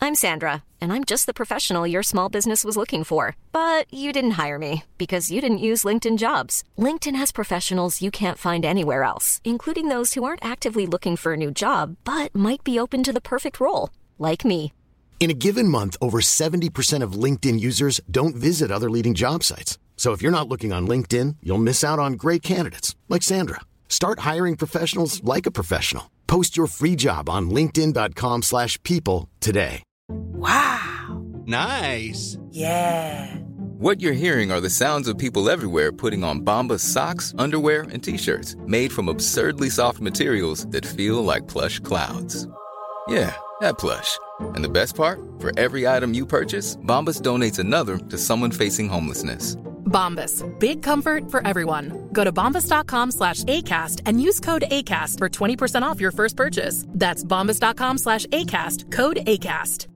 I'm Sandra, and I'm just the professional your small business was looking for. But you didn't hire me because you didn't use LinkedIn Jobs. LinkedIn has professionals you can't find anywhere else, including those who aren't actively looking for a new job, but might be open to the perfect role, like me. In a given month, over 70% of LinkedIn users don't visit other leading job sites. So if you're not looking on LinkedIn, you'll miss out on great candidates like Sandra. Start hiring professionals like a professional. Post your free job on linkedin.com/people today. Wow. Nice. Yeah. What you're hearing are the sounds of people everywhere putting on Bombas socks, underwear, and T-shirts made from absurdly soft materials that feel like plush clouds. Yeah, that plush. And the best part? For every item you purchase, Bombas donates another to someone facing homelessness. Bombas. Big comfort for everyone. Go to bombas.com/ACAST and use code ACAST for 20% off your first purchase. That's bombas.com/ACAST. Code ACAST.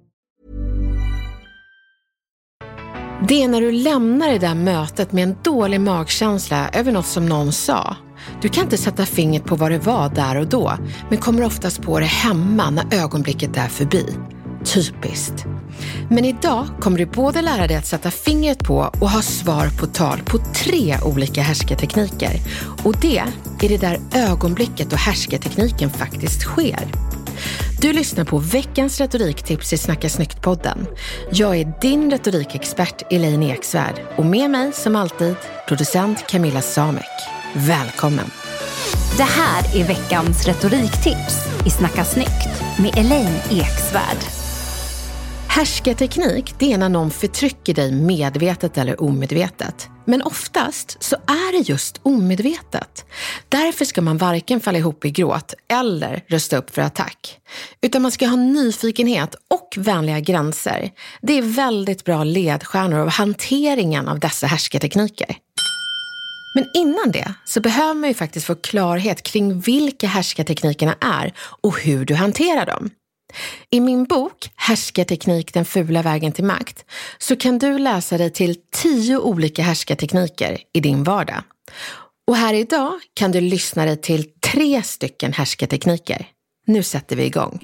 Det är när du lämnar det där mötet med en dålig magkänsla över något som någon sa. Du kan inte sätta fingret på vad det var där och då, men kommer oftast på det hemma när ögonblicket är förbi. Typiskt. Men idag kommer du både lära dig att sätta fingret på och ha svar på tal på 3 olika härskartekniker. Och det är det där ögonblicket och härskartekniken faktiskt sker. Du lyssnar på veckans retoriktips i Snacka Snyggt-podden. Jag är din retorikexpert Elaine Eksvärd och med mig som alltid producent Camilla Samek. Välkommen! Det här är veckans retoriktips i Snacka Snyggt med Elaine Eksvärd. Härskarteknik, det är när någon förtrycker dig medvetet eller omedvetet. Men oftast så är det just omedvetet. Därför ska man varken falla ihop i gråt eller rösta upp för attack. Utan man ska ha nyfikenhet och vänliga gränser. Det är väldigt bra ledstjärnor av hanteringen av dessa härskartekniker. Men innan det så behöver man ju faktiskt få klarhet kring vilka härskarteknikerna är och hur du hanterar dem. I min bok Härskarteknik, den fula vägen till makt så kan du läsa dig till 10 olika härskartekniker i din vardag. Och här idag kan du lyssna dig till 3 stycken härskartekniker. Nu sätter vi igång.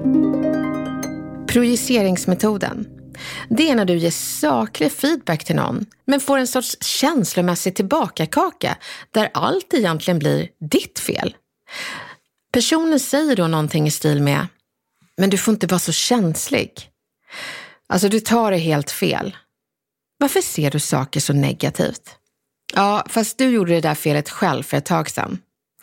Projiceringsmetoden. Det är när du ger saklig feedback till någon men får en sorts känslomässig tillbakakaka där allt egentligen blir ditt fel. Personen säger då någonting i stil med: men du får inte vara så känslig. Alltså du tar det helt fel. Varför ser du saker så negativt? Ja, fast du gjorde det där felet själv för ett tag sedan.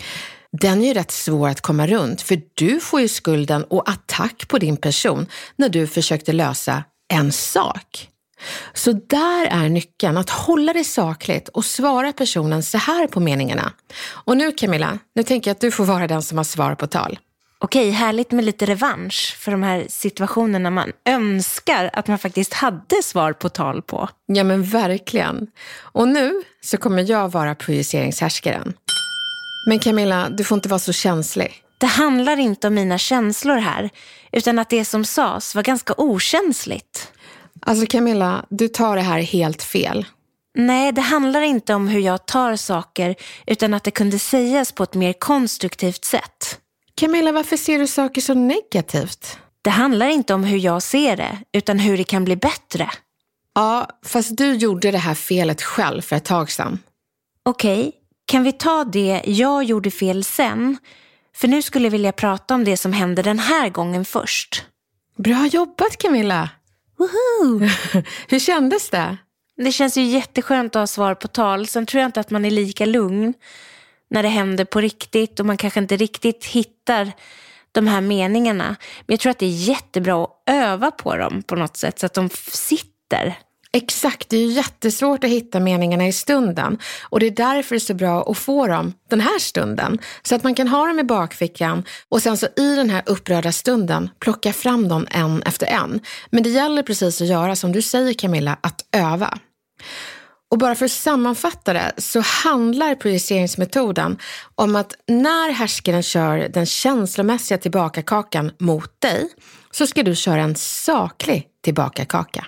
Den är ju rätt svår att komma runt för du får ju skulden och attack på din person när du försökte lösa en sak. Så där är nyckeln att hålla det sakligt och svara personen så här på meningarna. Och nu Camilla, nu tänker jag att du får vara den som har svar på tal. Okej, härligt med lite revansch för de här situationerna man önskar att man faktiskt hade svar på tal på. Ja men verkligen. Och nu så kommer jag vara projiceringshärskaren. Men Camilla, du får inte vara så känslig. Det handlar inte om mina känslor här, utan att det som sades var ganska okänsligt. Alltså Camilla, du tar det här helt fel. Nej, det handlar inte om hur jag tar saker, utan att det kunde sägas på ett mer konstruktivt sätt. Camilla, varför ser du saker så negativt? Det handlar inte om hur jag ser det, utan hur det kan bli bättre. Ja, fast du gjorde det här felet själv för ett tag sedan. Okej, kan vi ta det jag gjorde fel sen? För nu skulle jag vilja prata om det som hände den här gången först. Bra jobbat Camilla! Woohoo! Hur kändes det? Det känns ju jätteskönt att ha svar på tal. Sen tror jag inte att man är lika lugn när det händer på riktigt och man kanske inte riktigt hittar de här meningarna. Men jag tror att det är jättebra att öva på dem på något sätt så att de sitter. Exakt, det är ju jättesvårt att hitta meningarna i stunden och det är därför det är så bra att få dem den här stunden så att man kan ha dem i bakfickan och sen så i den här upprörda stunden plocka fram dem en efter en. Men det gäller precis att göra som du säger Camilla, att öva. Och bara för att sammanfatta det så handlar projiceringsmetoden om att när härskaren kör den känslomässiga tillbakakakan mot dig så ska du köra en saklig tillbakakaka.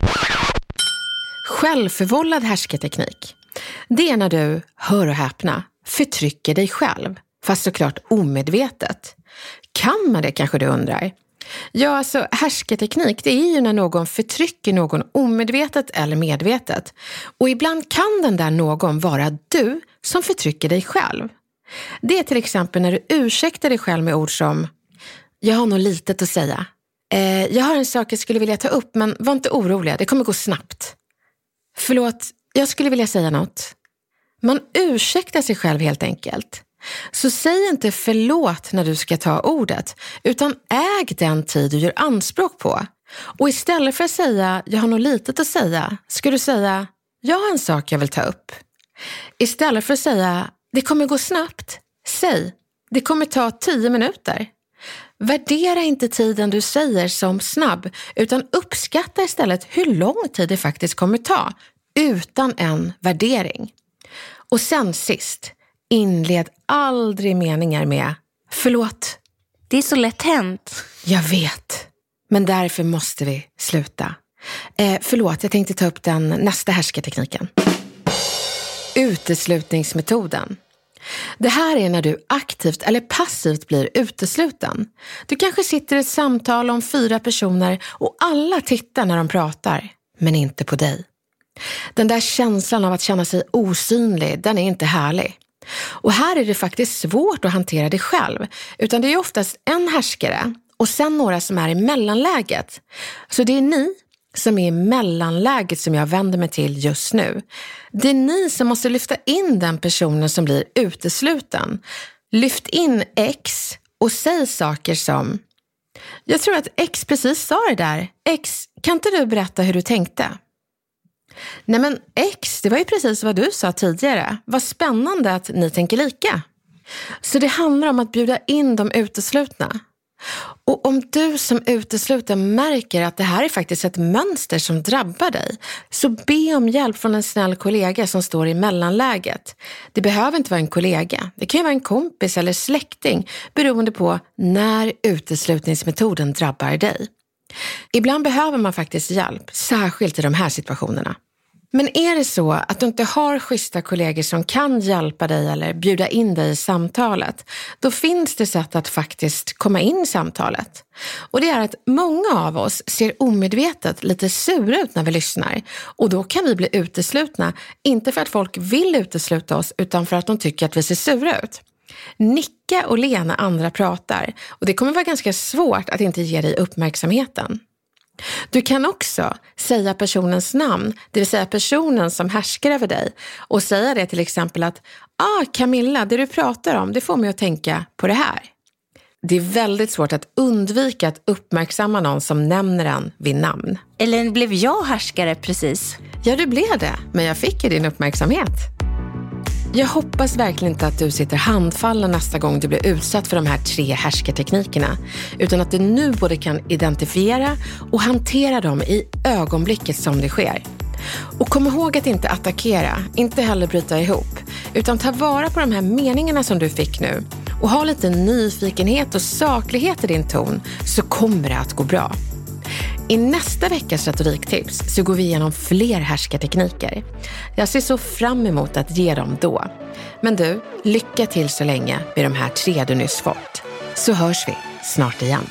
Självförvållad härskarteknik. Det är när du, hör och häpna, förtrycker dig själv, fast såklart omedvetet. Kan man det kanske du undrar? Ja, alltså härskarteknik, det är ju när någon förtrycker någon omedvetet eller medvetet. Och ibland kan den där någon vara du som förtrycker dig själv. Det är till exempel när du ursäktar dig själv med ord som jag har nog litet att säga. Jag har en sak jag skulle vilja ta upp, men var inte oroliga, det kommer gå snabbt. Förlåt, jag skulle vilja säga något. Man ursäktar sig själv helt enkelt. Så säg inte förlåt när du ska ta ordet, utan äg den tid du gör anspråk på. Och istället för att säga jag har nog litet att säga, ska du säga jag har en sak jag vill ta upp. Istället för att säga det kommer gå snabbt, säg det kommer ta 10 minuter. Värdera inte tiden du säger som snabb, utan uppskatta istället hur lång tid det faktiskt kommer ta, utan en värdering. Och sen sist, inled aldrig meningar med förlåt. Det är så lätt hänt. Jag vet, men därför måste vi sluta. Förlåt, jag tänkte ta upp den nästa härskartekniken. Uteslutningsmetoden. Det här är när du aktivt eller passivt blir utesluten. Du kanske sitter i ett samtal om 4 personer och alla tittar när de pratar, men inte på dig. Den där känslan av att känna sig osynlig, den är inte härlig. Och här är det faktiskt svårt att hantera det själv, utan det är oftast en härskare och sen några som är i mellanläget. Så det är ni som är i mellanläget som jag vänder mig till just nu. Det är ni som måste lyfta in den personen som blir utesluten. Lyft in X och säg saker som jag tror att X precis sa det där. X, kan inte du berätta hur du tänkte? Nej men X, det var ju precis vad du sa tidigare. Vad spännande att ni tänker lika. Så det handlar om att bjuda in de uteslutna. Och om du som utesluten märker att det här är faktiskt ett mönster som drabbar dig, så be om hjälp från en snäll kollega som står i mellanläget. Det behöver inte vara en kollega. Det kan ju vara en kompis eller släkting beroende på när uteslutningsmetoden drabbar dig. Ibland behöver man faktiskt hjälp, särskilt i de här situationerna. Men är det så att du inte har schyssta kollegor som kan hjälpa dig eller bjuda in dig i samtalet, då finns det sätt att faktiskt komma in i samtalet. Och det är att många av oss ser omedvetet lite sura ut när vi lyssnar. Och då kan vi bli uteslutna, inte för att folk vill utesluta oss, utan för att de tycker att vi ser sura ut. Nicka och le när andra pratar, och det kommer vara ganska svårt att inte ge dig uppmärksamheten. Du kan också säga personens namn, det vill säga personen som härskar över dig, och säga det till exempel att Camilla, det du pratar om, det får mig att tänka på det här. Det är väldigt svårt att undvika att uppmärksamma någon som nämner en vid namn. Eller blev jag härskare precis? Ja, du blev det, men jag fick ju din uppmärksamhet. Jag hoppas verkligen inte att du sitter handfallen nästa gång du blir utsatt för de här 3 härskarteknikerna, utan att du nu både kan identifiera och hantera dem i ögonblicket som det sker. Och kom ihåg att inte attackera, inte heller bryta ihop, utan ta vara på de här meningarna som du fick nu och ha lite nyfikenhet och saklighet i din ton, så kommer det att gå bra. I nästa veckas retoriktips så går vi igenom fler härskartekniker. Jag ser så fram emot att ge dem då. Men du, lycka till så länge med de här 3 du nyss fått. Så hörs vi snart igen.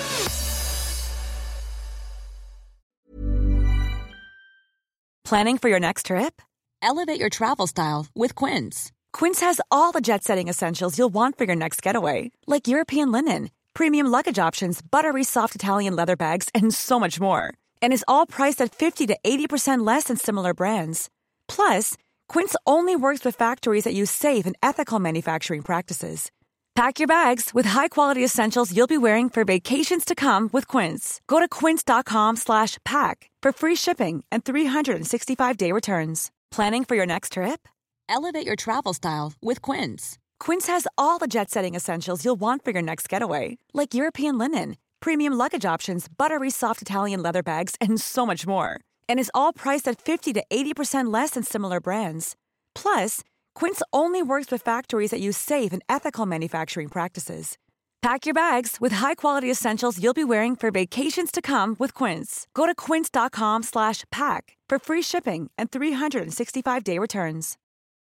Planning for your next trip? Elevate your travel style with Quince. Quince has all the jet-setting essentials you'll want for your next getaway, like European linen, premium luggage options, buttery soft Italian leather bags, and so much more. And is all priced at 50 to 80% less than similar brands. Plus, Quince only works with factories that use safe and ethical manufacturing practices. Pack your bags with high-quality essentials you'll be wearing for vacations to come with Quince. Go to quince.com/pack for free shipping and 365-day returns. Planning for your next trip? Elevate your travel style with Quince. Quince has all the jet-setting essentials you'll want for your next getaway, like European linen, premium luggage options, buttery soft Italian leather bags, and so much more. And is all priced at 50 to 80% less than similar brands. Plus, Quince only works with factories that use safe and ethical manufacturing practices. Pack your bags with high-quality essentials you'll be wearing for vacations to come with Quince. Go to quince.com/pack for free shipping and 365-day returns.